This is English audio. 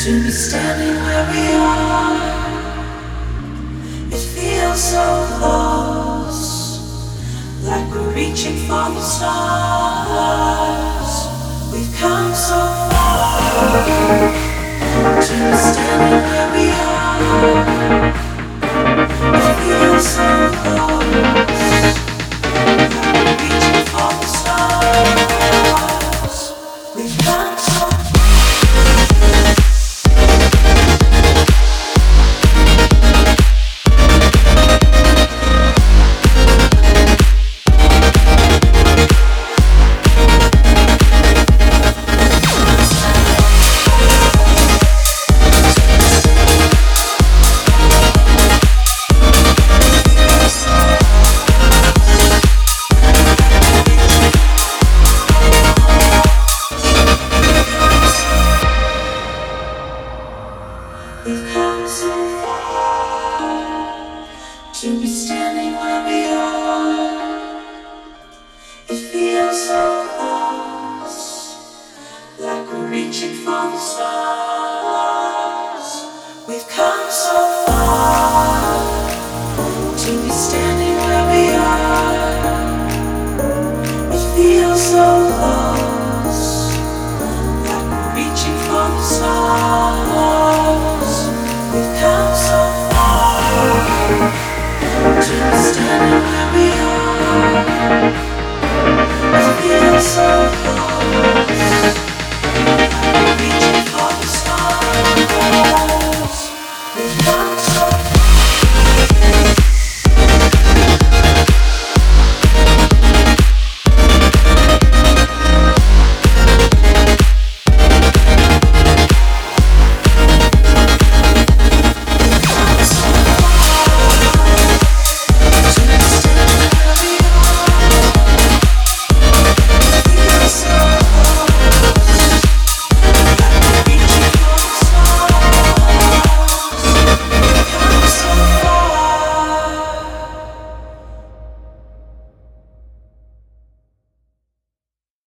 To be standing where we are, it feels so close, like we're reaching for the stars. We've come so far. To be standing where we are, it feels so close, like we're reaching for the stars. We've come so far. We've come so far to be standing where we are. It feels so close, like we're reaching for the stars.